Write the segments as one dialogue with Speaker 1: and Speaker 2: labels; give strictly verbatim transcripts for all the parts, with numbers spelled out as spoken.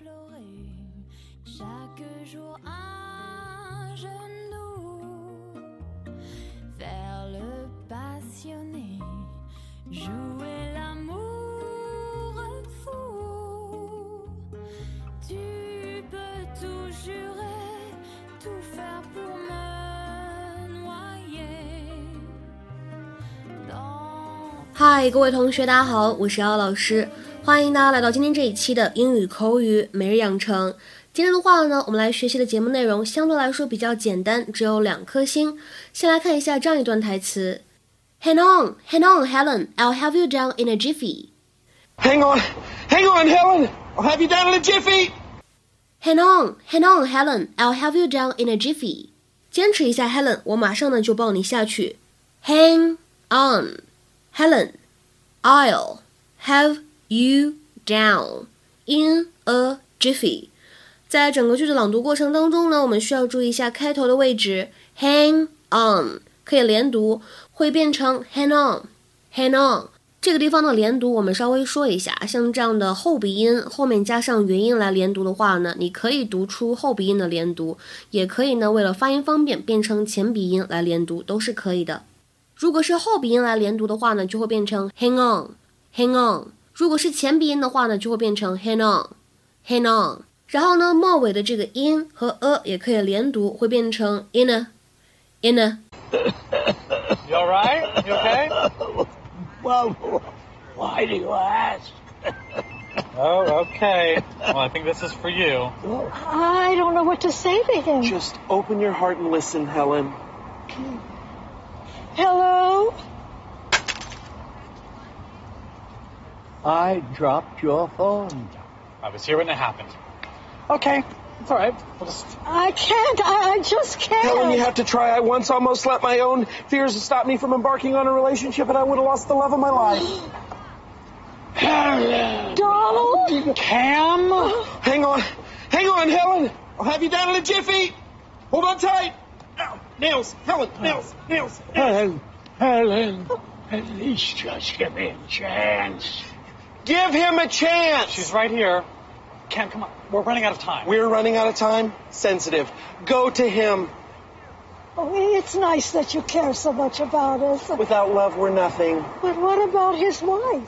Speaker 1: 嗨，各位同学大家好，我是姚老师，欢迎大家来到今天这一期的英语口语每日养成。今天的话呢，我们来学习的节目内容相对来说比较简单，只有两颗星。先来看一下这样一段台词 Hang on, hang on, Helen, I'll have you down in a jiffy.
Speaker 2: Hang on, hang on, Helen, I'll have you down in a jiffy.
Speaker 1: Hang on, hang on, Helen, I'll have you down in a jiffy. 坚持一下 Helen, 我马上呢就抱你下去。Hang on, Helen, I'll have you down in a jiffy. 在整个句子朗读过程当中呢，我们需要注意一下开头的位置 hang on 可以连读，会变成 hang on hang on 这个地方的连读我们稍微说一下，像这样的后鼻音后面加上元音来连读的话呢，你可以读出后鼻音的连读，也可以呢为了发音方便变成前鼻音来连读，都是可以的。如果是后鼻音来连读的话呢，就会变成 hang on hang on， 如果是前鼻音的话呢，就会变成 hang on hang on， 然后呢末尾的这个音和 a 也可以连读，会变成 in a in a
Speaker 3: You alright? You okay?
Speaker 4: Well, why do you ask?
Speaker 3: Oh, okay. Well, I think this is for you.
Speaker 5: I don't know what to say to him.
Speaker 2: Just open your heart and listen, Helen.
Speaker 5: Hello?
Speaker 4: I dropped your phone.
Speaker 3: I was here when it happened. Okay, it's all right. We'll just...
Speaker 5: I can't. I, I just can't.
Speaker 2: Helen, you have to try. I once almost let my own fears stop me from embarking on a relationship, and I would have lost the love of my life.
Speaker 4: Helen!
Speaker 5: Donald?
Speaker 3: Cam?
Speaker 2: Hang on. Hang on, Helen. I'll have you down in a jiffy. Hold on tight. Ow. Nails. Helen, nails, nails.
Speaker 4: Helen, Helen, at least just give me a chance.
Speaker 2: Give him a chance.
Speaker 3: She's right here. Cam, come on. We're running out of time.
Speaker 2: We're running out of time? Sensitive. Go to him.
Speaker 5: Oh, it's nice that you care so much about us.
Speaker 2: Without love, we're nothing.
Speaker 5: But what about his wife?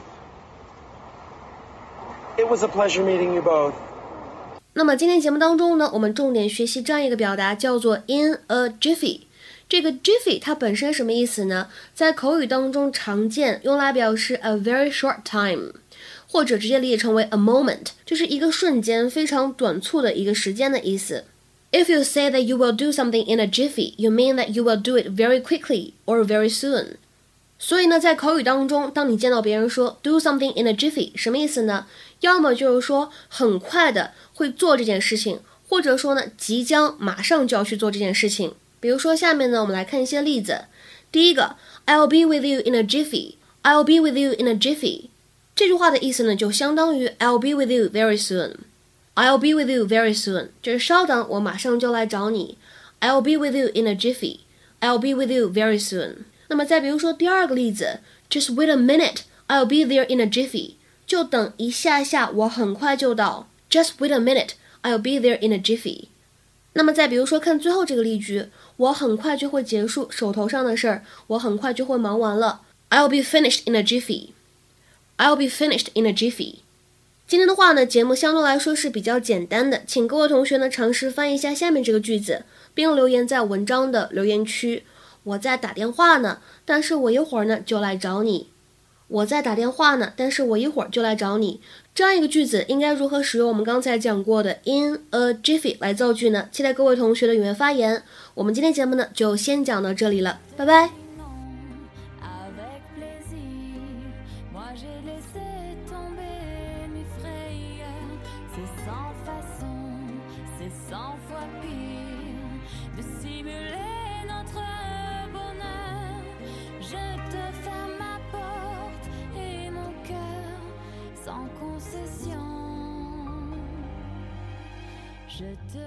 Speaker 2: It was a pleasure meeting you both.
Speaker 1: 那么今天节目当中呢，我们重点学习这样一个表达，叫做 in a jiffy。这个 jiffy 它本身什么意思呢？在口语当中常见，用来表示 a very short time， 或者直接理解成为 a moment， 就是一个瞬间，非常短促的一个时间的意思。If you say that you will do something in a jiffy, you mean that you will do it very quickly or very soon。所以呢，在口语当中，当你见到别人说 do something in a jiffy， 什么意思呢？要么就是说很快的会做这件事情，或者说呢即将马上就要去做这件事情。比如说下面呢，我们来看一些例子。第一个 I'll be with you in a jiffy I'll be with you in a jiffy 这句话的意思呢，就相当于 I'll be with you very soon I'll be with you very soon 就是稍等，我马上就来找你。 I'll be with you in a jiffy I'll be with you very soon。 那么再比如说第二个例子 Just wait a minute I'll be there in a jiffy 就等一下下，我很快就到。 Just wait a minute I'll be there in a jiffy。 那么再比如说看最后这个例句，我很快就会结束手头上的事儿，我很快就会忙完了。 I'll be finished in a jiffy I'll be finished in a jiffy。 今天的话呢，节目相对来说是比较简单的，请各位同学呢尝试翻译一下下面这个句子，并留言在文章的留言区。我在打电话呢，但是我一会儿呢就来找你。我在打电话呢，但是我一会儿就来找你。这样一个句子应该如何使用我们刚才讲过的 in a jiffy 来造句呢？期待各位同学的踊跃发言。我们今天节目呢就先讲到这里了，拜拜。
Speaker 6: Je te